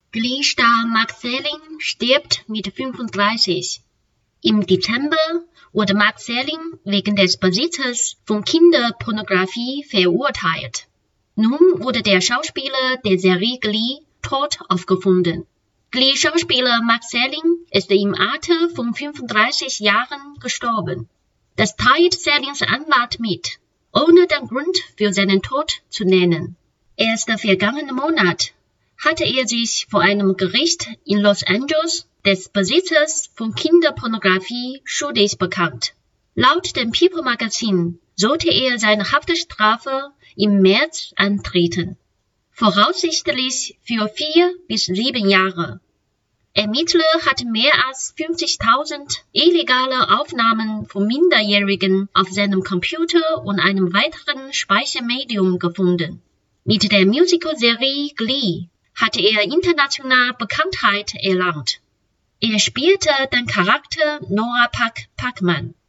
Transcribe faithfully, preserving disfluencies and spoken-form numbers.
Glee-Star Mark Selling stirbt mit fünfunddreißig. Im Dezember wurde Mark Selling wegen des Besitzes von Kinderpornografie verurteilt. Nun wurde der Schauspieler der Serie Glee tot aufgefunden. Glee-Schauspieler Mark Selling ist im Alter von fünfunddreißig Jahren gestorben. Das teilt Sellings Anwalt mit, ohne den Grund für seinen Tod zu nennen. Erst vergangenen Monat hatte er sich vor einem Gericht in Los Angeles des Besitzes von Kinderpornografie schuldig bekannt. Laut dem People-Magazin sollte er seine Haftstrafe im März antreten, voraussichtlich für vier bis sieben Jahre. Ermittler hatten mehr als fünfzigtausend illegale Aufnahmen von Minderjährigen auf seinem Computer und einem weiteren Speichermedium gefunden. Mit der Musical-Serie Glee hatte er international Bekanntheit erlangt. Er spielte den Charakter Noah Puck Puckman.